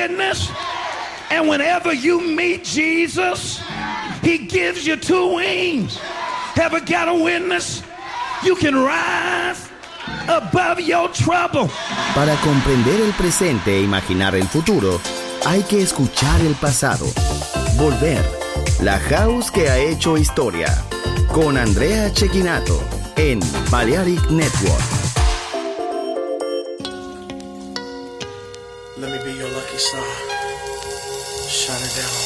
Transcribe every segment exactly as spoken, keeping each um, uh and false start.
witness. And whenever you meet Jesus, he gives you two wings. Ever got a witness? You can rise above your trouble. Para comprender el presente e imaginar el futuro, hay que escuchar el pasado. Volver. La house que ha hecho historia. Con Andrea Cecchinato en Balearic Network. Let me be your lucky star. Shine it down.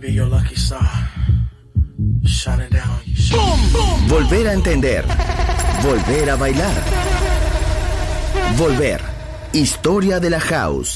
be your lucky star. Shine it down. You shine. Volver a entender. Volver a bailar. Volver. Historia de la house.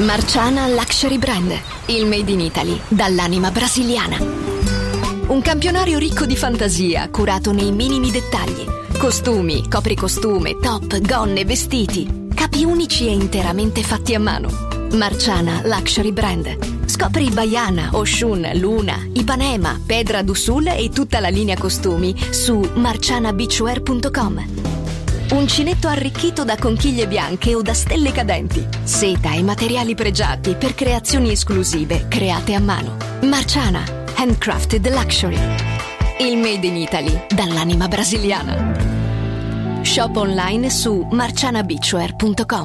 Marciana Luxury Brand, il made in Italy dall'anima brasiliana. Un campionario ricco di fantasia, curato nei minimi dettagli. Costumi, copricostume, top, gonne, vestiti. Capi unici e interamente fatti a mano. Marciana Luxury Brand. Scopri Baiana, Oshun, Luna, Ipanema, Pedra do Sul e tutta la linea costumi su marciana beachwear punto com. Uncinetto arricchito da conchiglie bianche o da stelle cadenti. Seta e materiali pregiati per creazioni esclusive create a mano. Marciana, handcrafted luxury. Il made in Italy dall'anima brasiliana. Shop online su marciana beachwear punto com.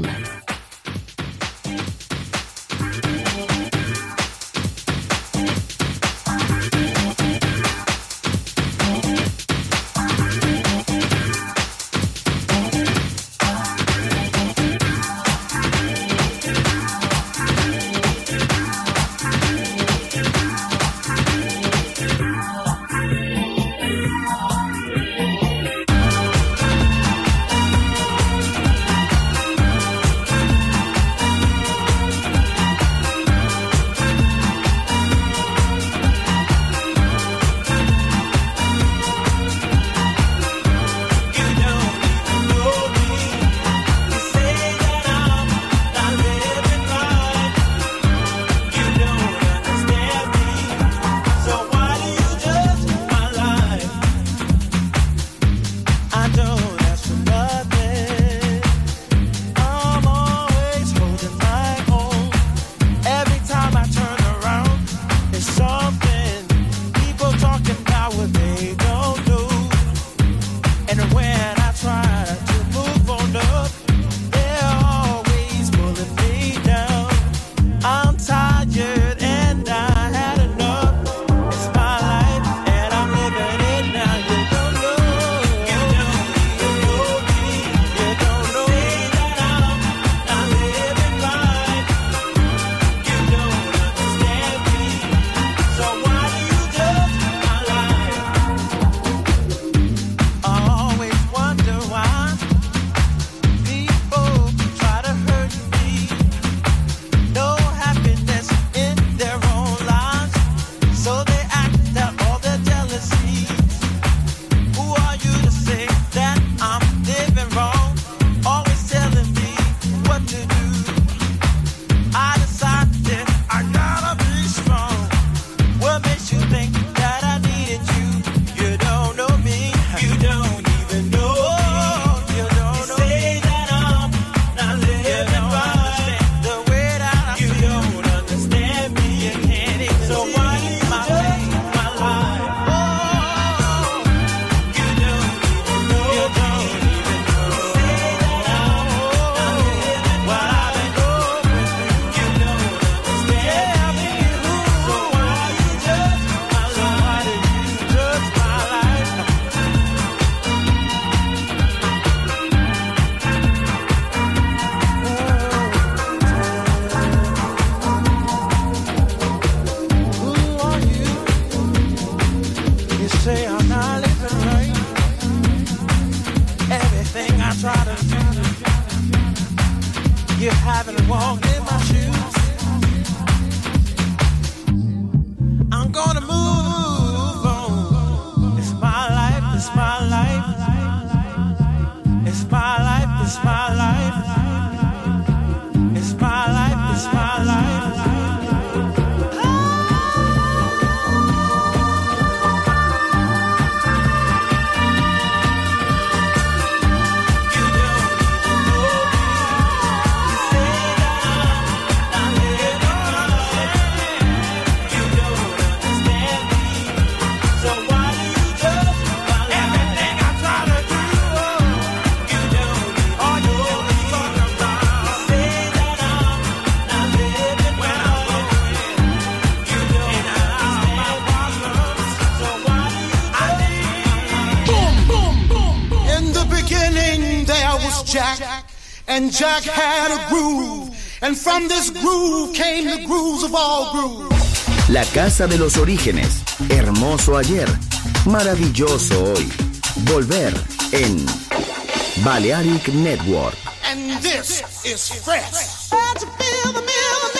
Jack, and Jack had a groove, and from this groove came the grooves of all grooves. La casa de los orígenes, hermoso ayer, maravilloso hoy. Volver en Balearic Network. And this is fresh. How'd you feel the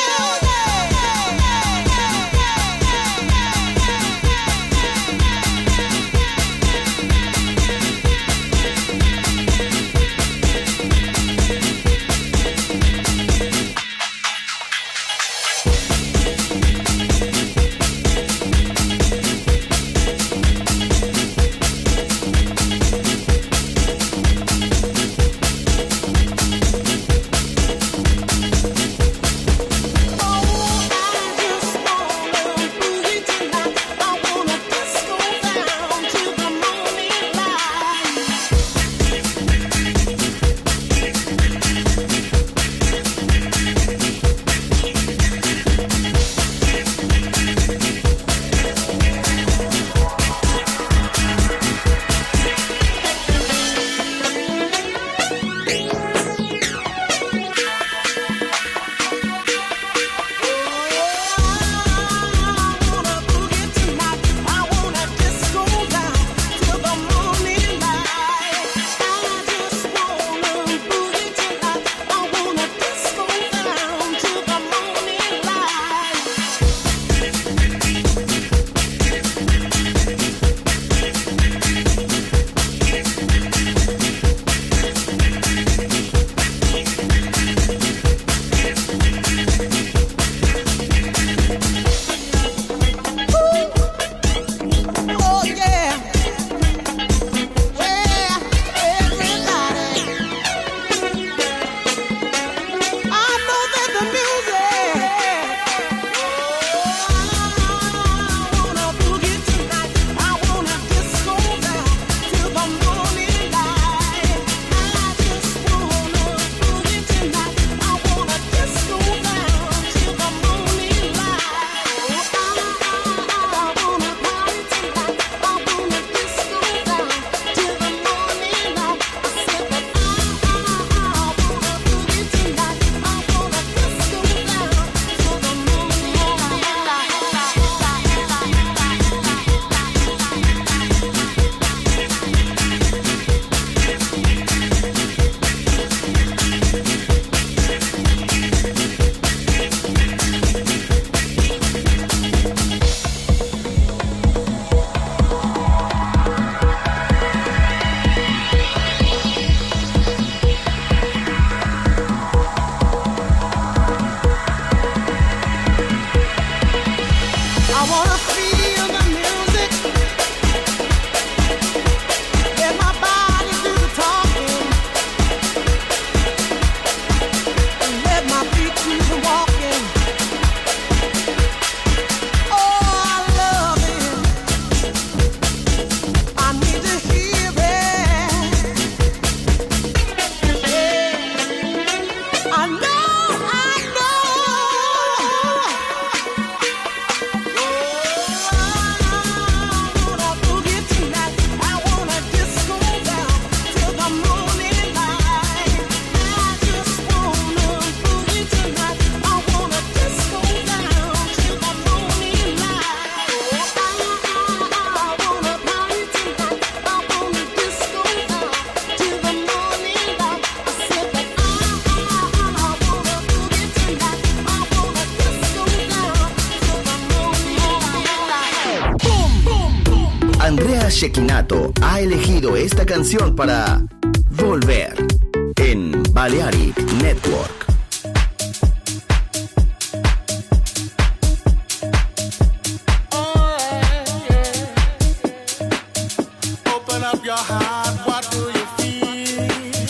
Shekinato ha elegido esta canción para volver en Balearic Network. Open up your heart, what do you feel?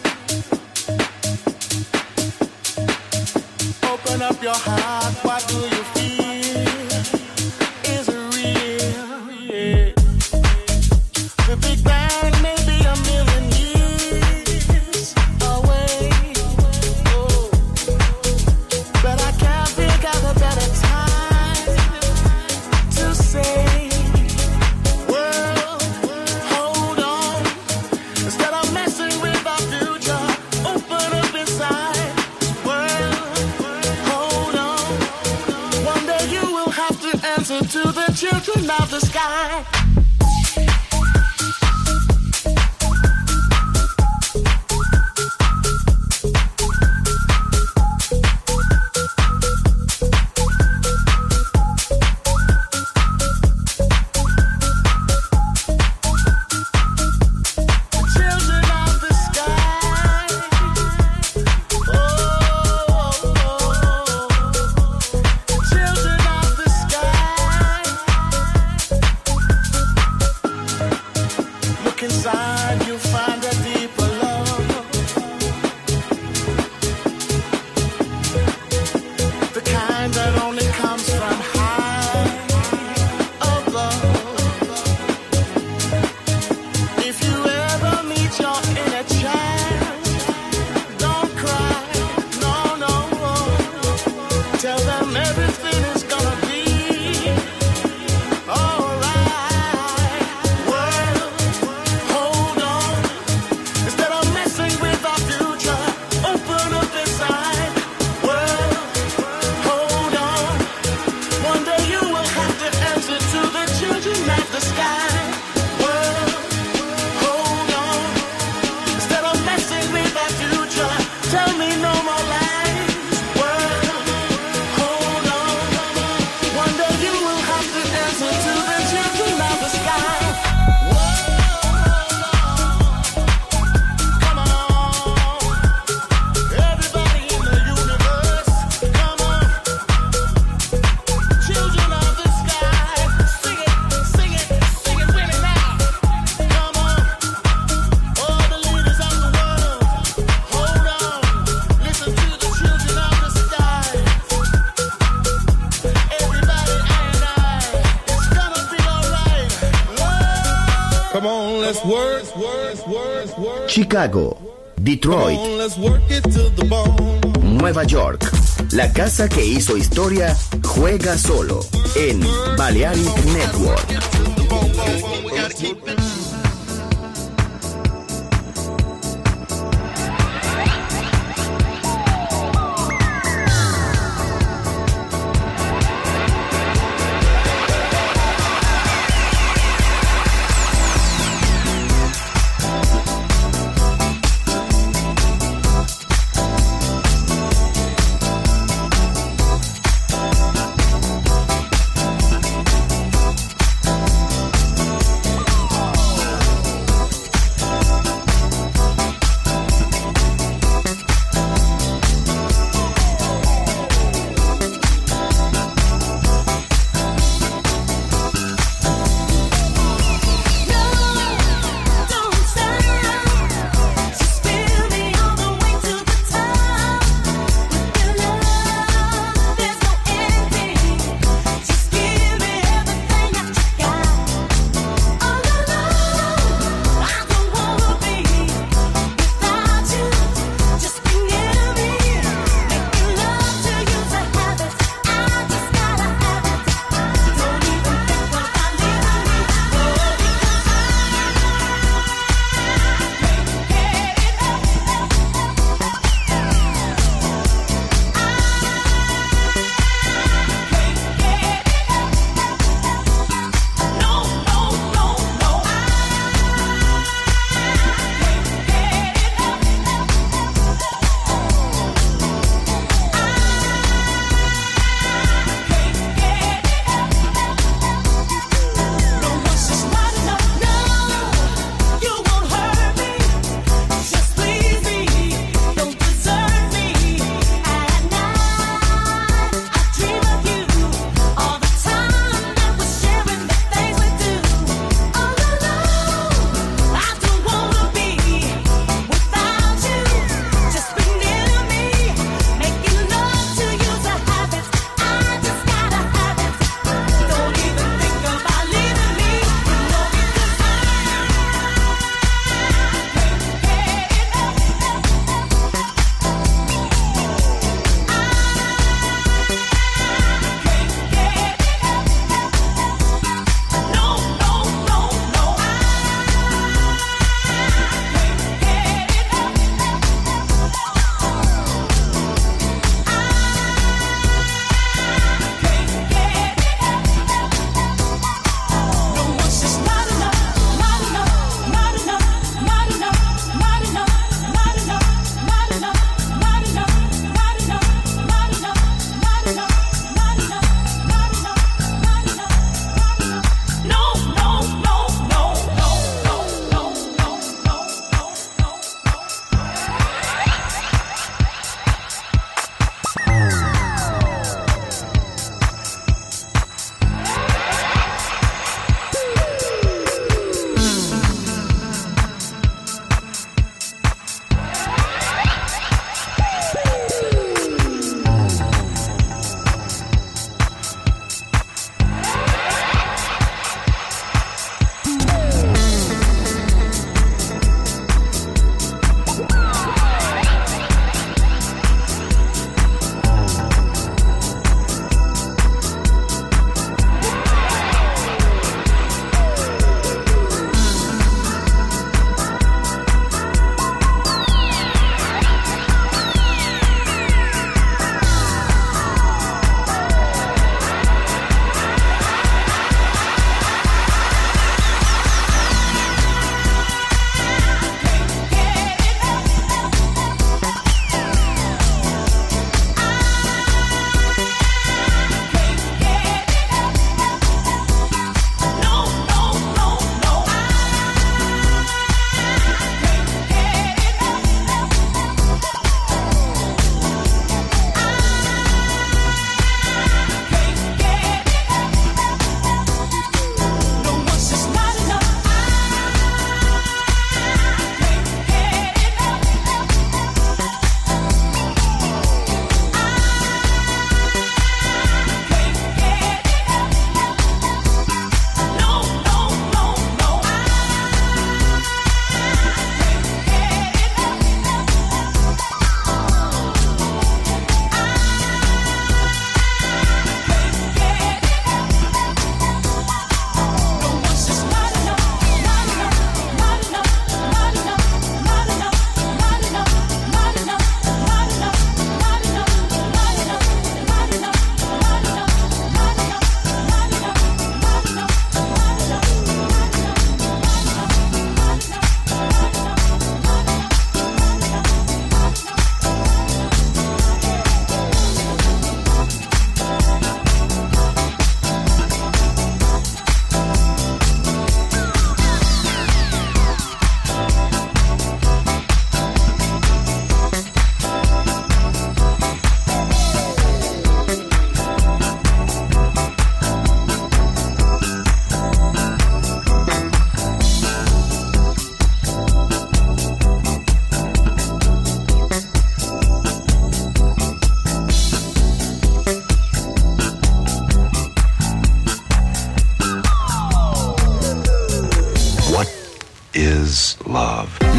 Open up your heart, what do you feel? Is it real? Yeah. The Big Bang may be a million years away. Oh. But I can't think of a better time to say, world, hold on. Instead of messing with our future, open up inside. World, hold on. One day you will have to answer to the children of the sky. Children of the sky. Oh, children of the sky. Look inside, you'll find a deeper love. The kind that only comes from high above. If you ever meet your inner child, don't cry, no, no. Tell them everything is gonna be alright. World, hold on. Instead of messing with our future, open up inside. World, hold on. One day you will have to answer to the children of the sky. World, hold on. Instead of messing with our future, tell me no more lies. World, hold on. One day you will have to answer to the children of the sky. World, come on. Everybody in the universe, come on. Children of the sky, sing it, sing it, sing it with me now. Come on. All the leaders of the world, hold on. Listen to the children of the sky. Everybody, I and I, it's gonna be alright. Come on, let's work, work, work, work. Chicago, Detroit, Come on, let's work it to the bone. Nueva York. La casa que hizo historia juega solo en Balearic Network. We gotta keep it.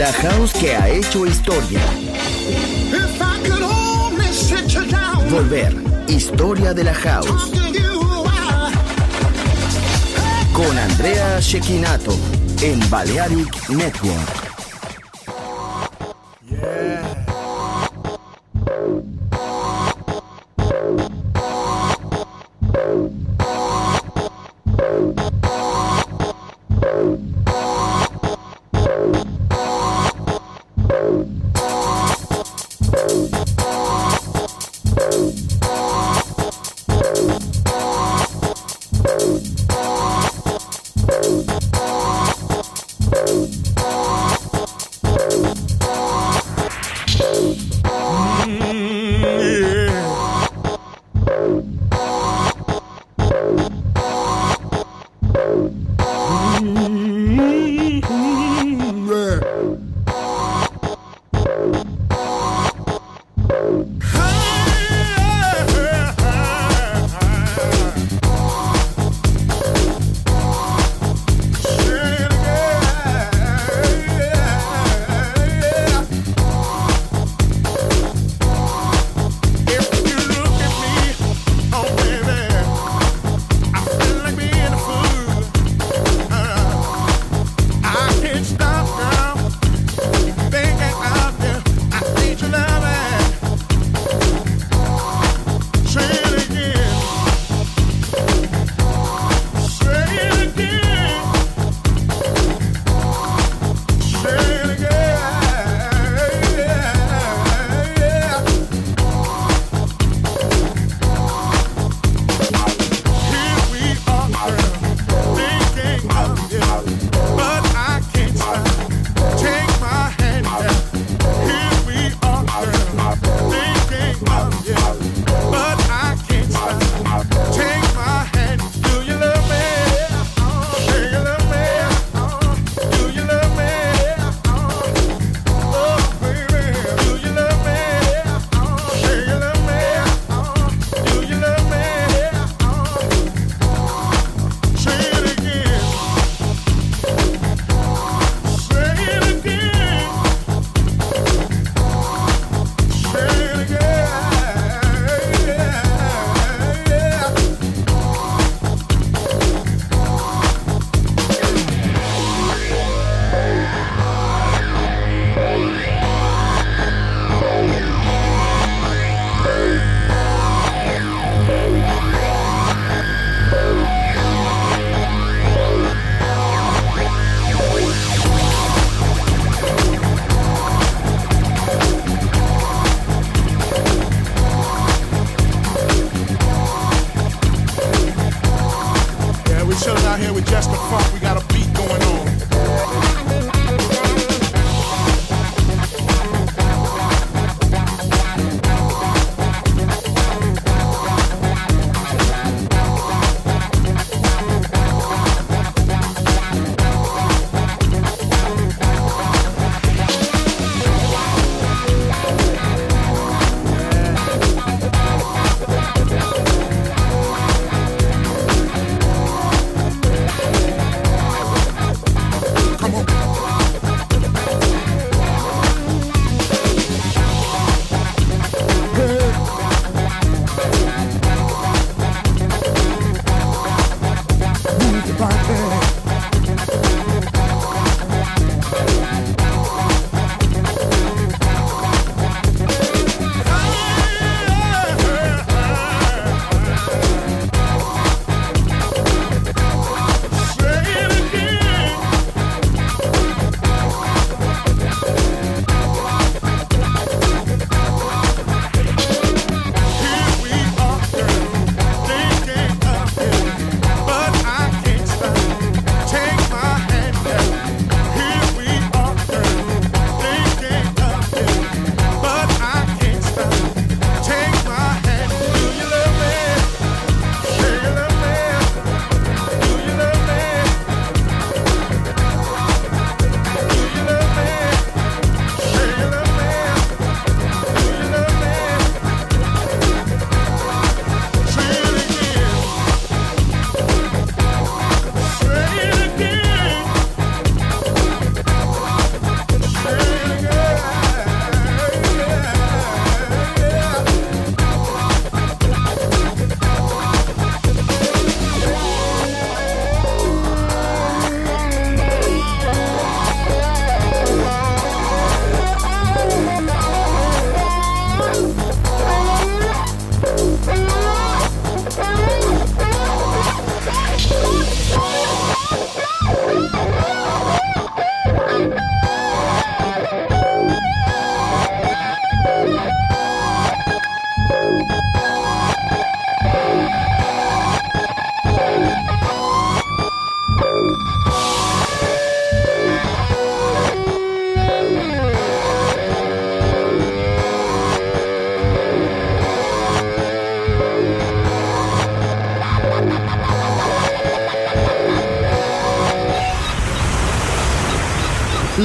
La house que ha hecho historia. If I could only sit you down, Volver. Historia de la house. talk to you while Con Andrea Cecchinato en Balearic Network.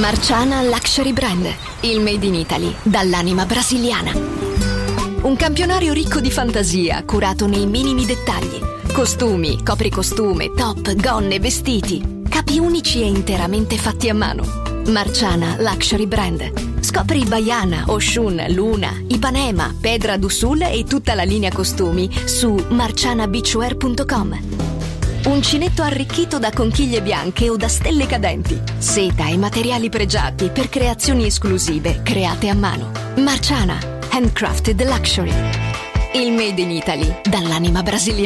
Marciana Luxury Brand, il made in Italy dall'anima brasiliana. Un campionario ricco di fantasia, curato nei minimi dettagli. Costumi, copricostume, top, gonne, vestiti. Capi unici e interamente fatti a mano. Marciana Luxury Brand. Scopri Baiana, Oshun, Luna, Ipanema, Pedra do Sul e tutta la linea costumi su marciana beachwear punto com. Uncinetto arricchito da conchiglie bianche o da stelle cadenti. Seta e materiali pregiati per creazioni esclusive create a mano. Marciana, handcrafted luxury. Il made in Italy dall'anima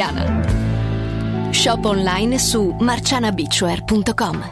brasiliana. Shop online su marciana beachwear punto com.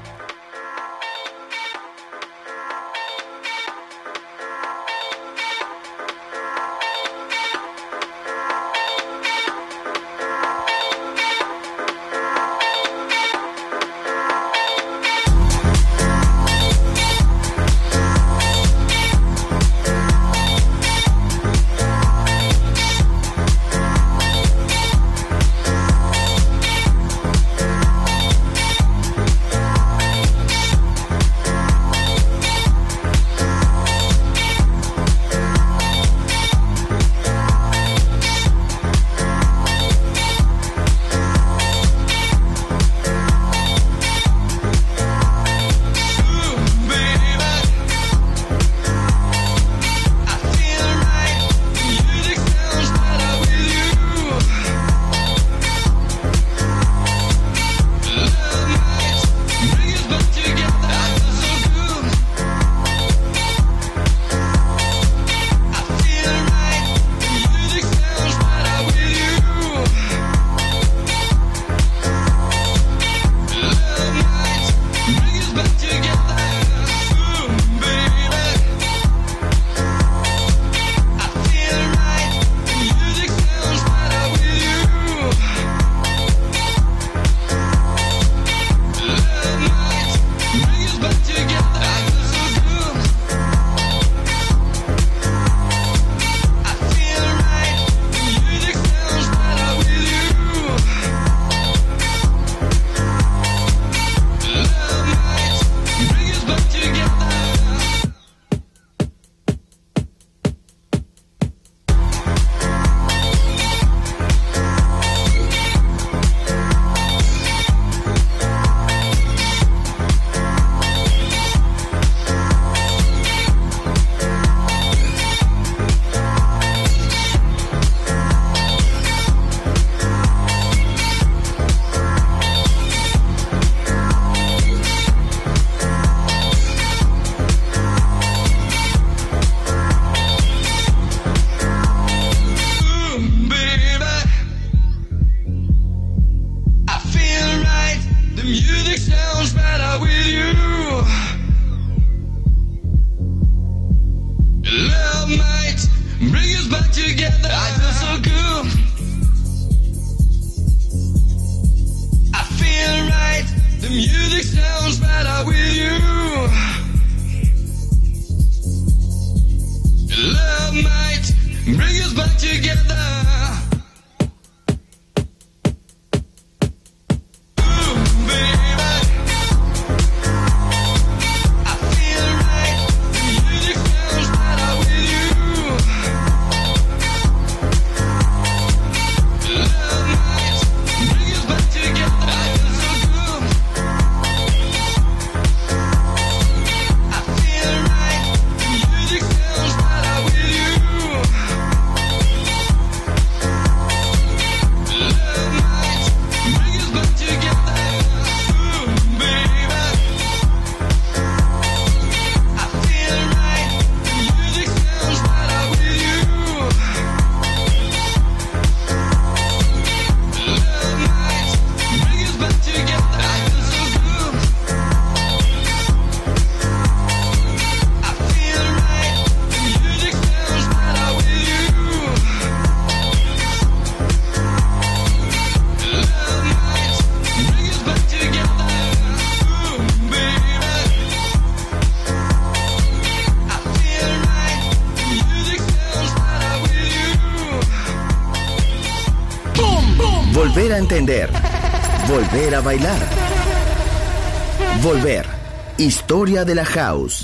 Volver a entender. Volver a bailar. Volver Historia de la House.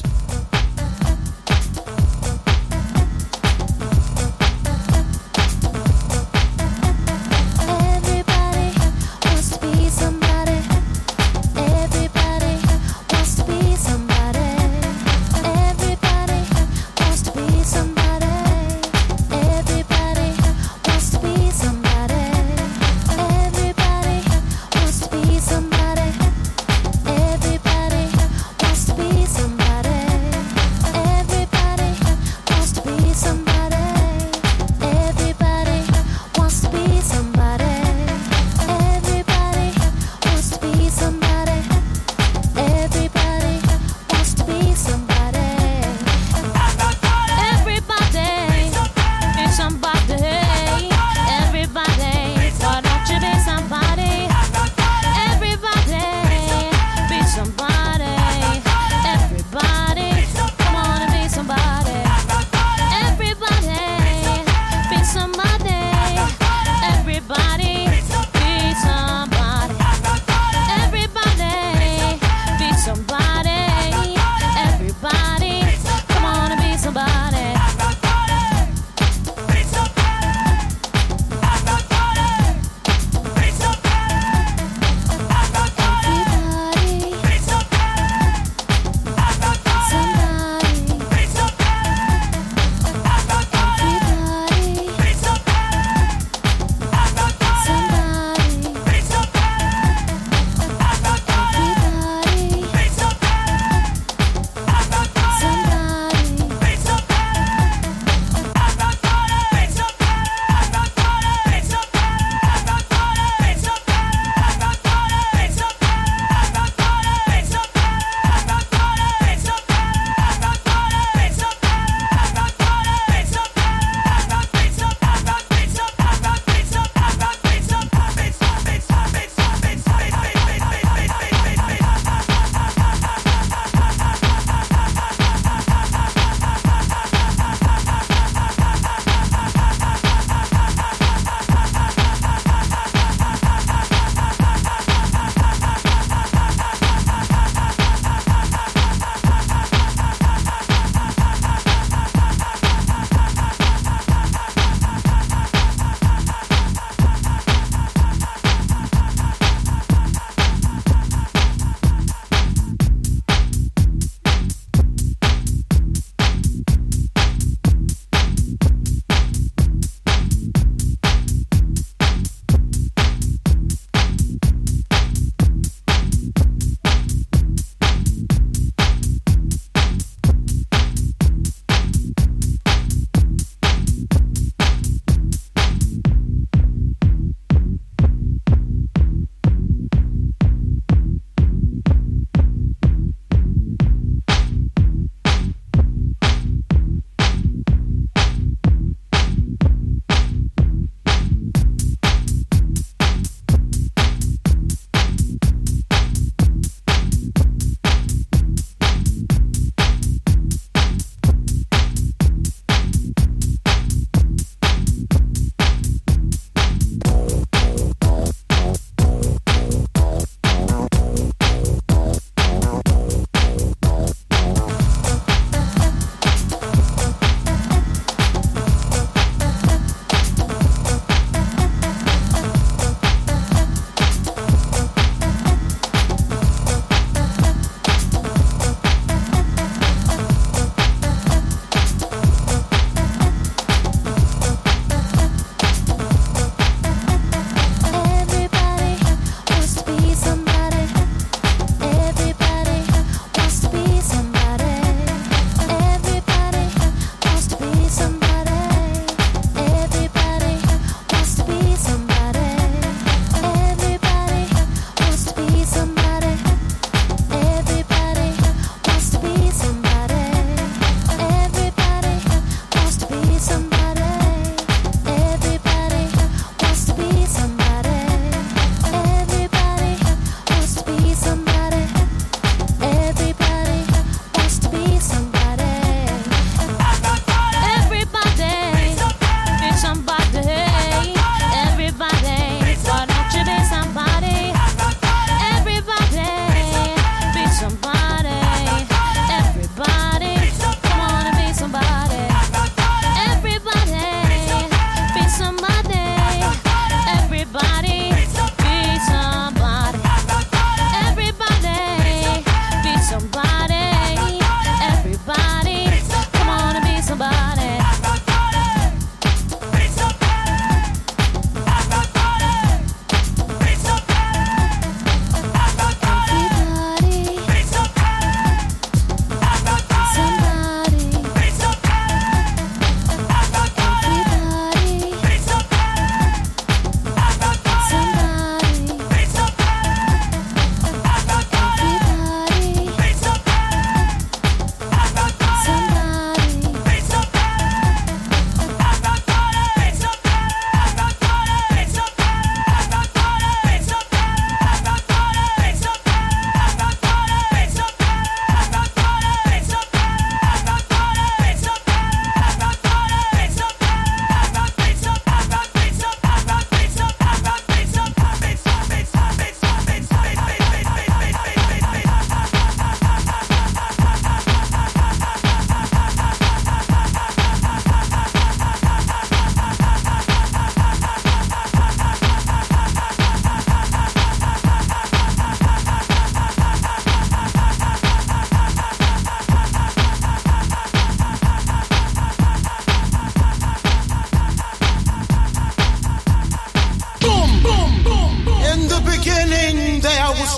Somebody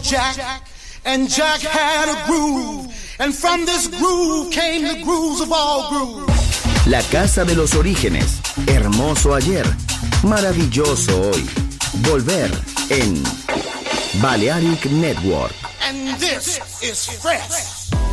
Jack, and Jack had a groove, and from this groove came the grooves of all grooves. La casa de los orígenes, hermoso ayer, maravilloso hoy. Volver en Balearic Network. And this is fresh.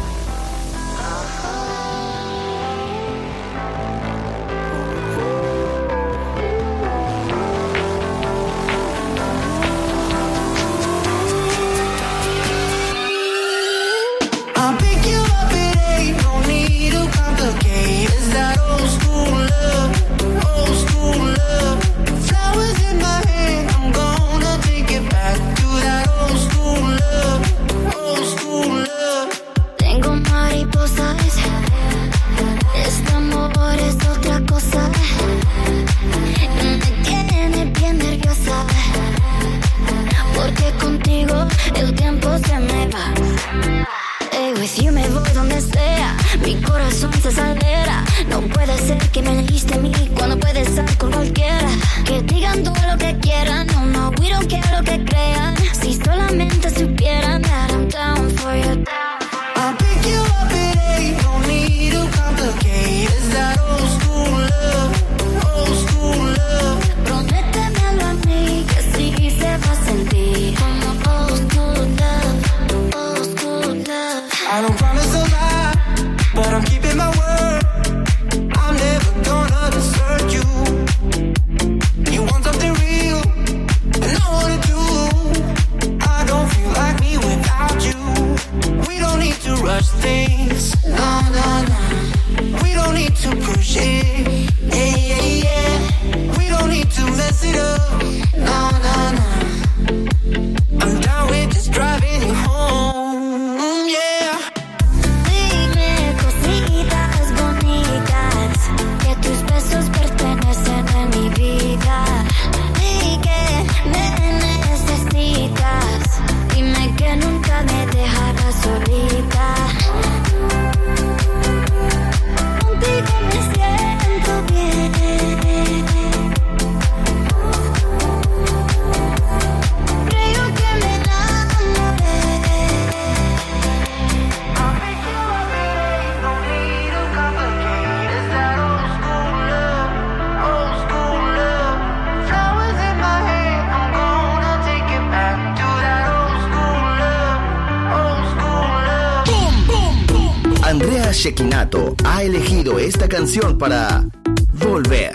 Shekinato ha elegido esta canción para Volver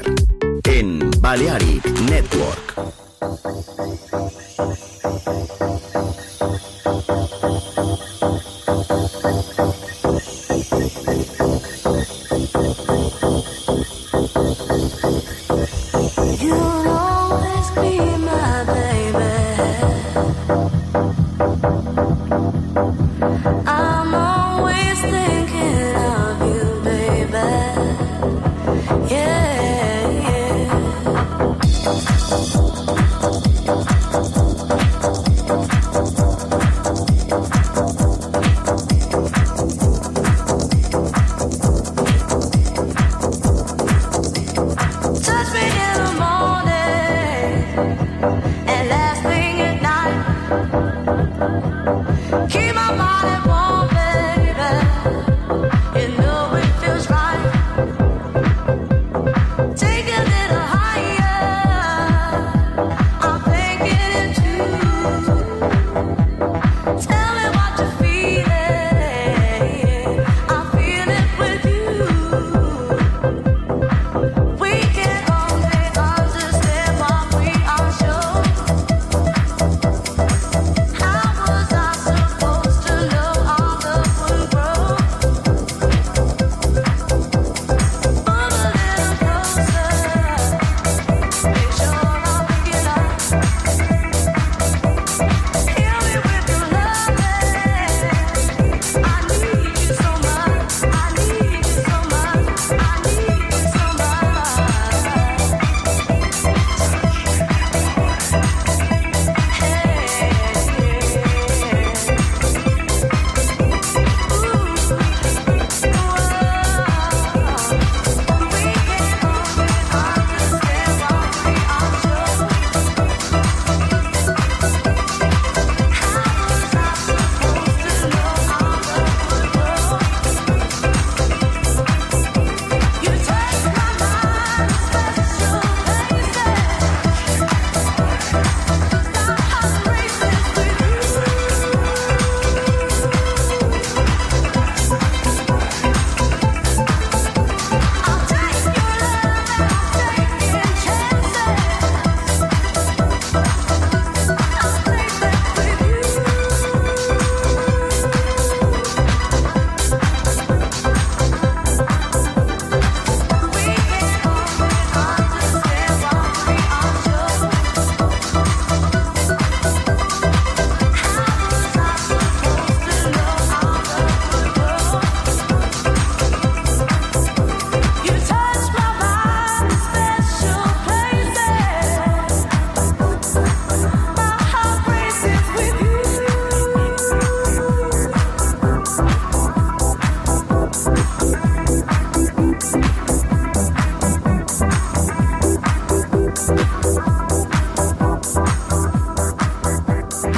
en Balearic Network.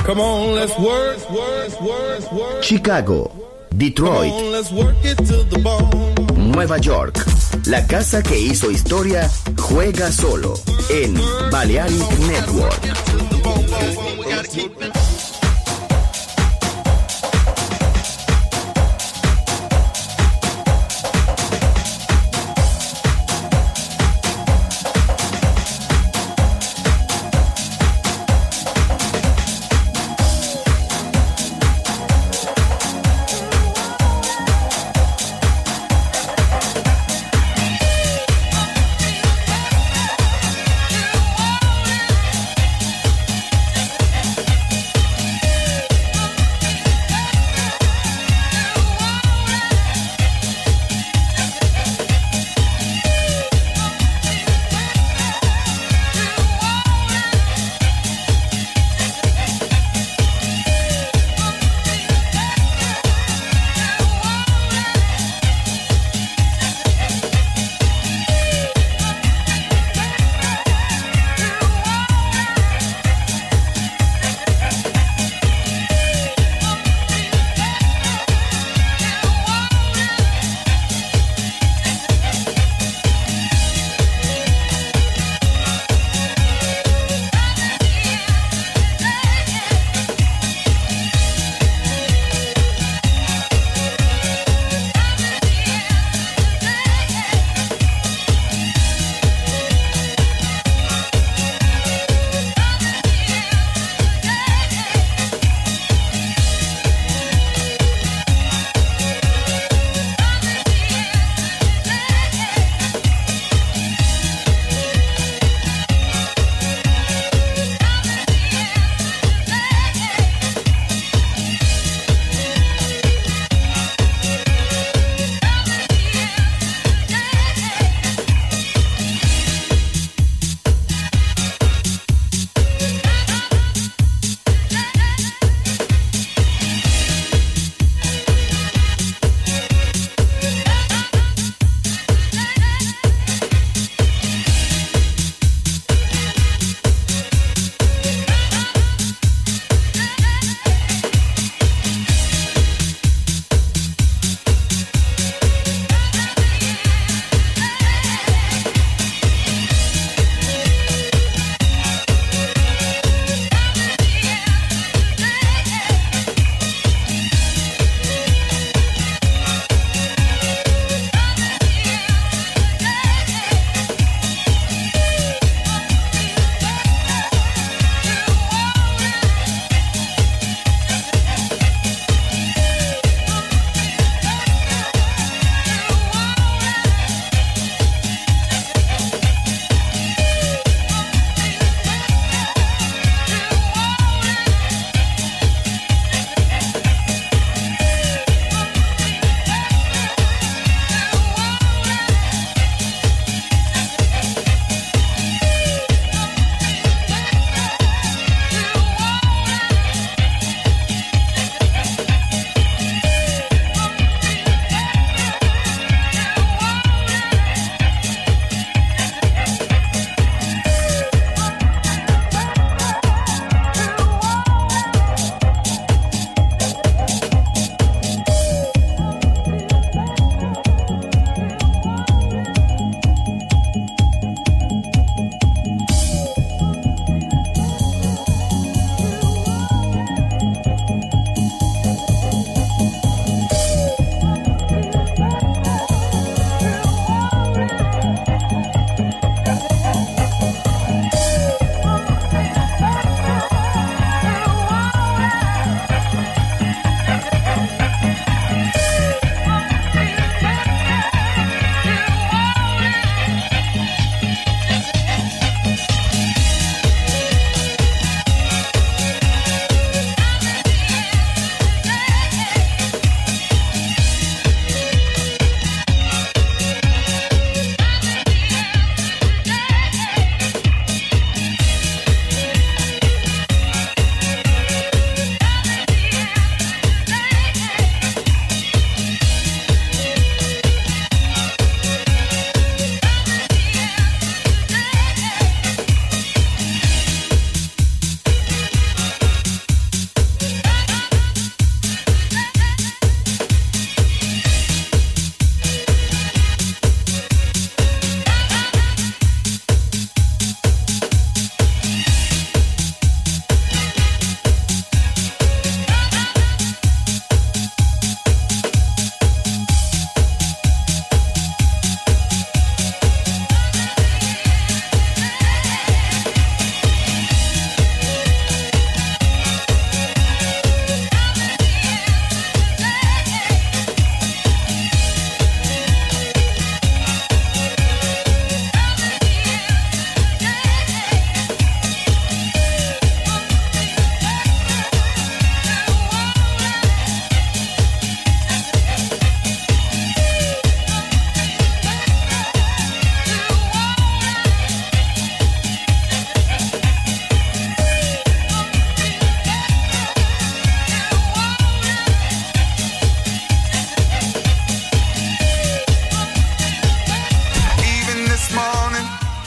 Come on, let's work, work, work, work. Chicago, Detroit, Come on, let's work it to the bone. Nueva York. La casa que hizo historia juega solo en Balearic Network.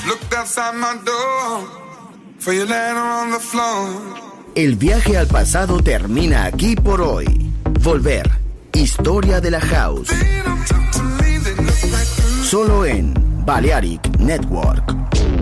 Looked outside my door for your letter on the floor. El viaje al pasado termina aquí por hoy. Volver. Historia de la House. Solo en Balearic Network.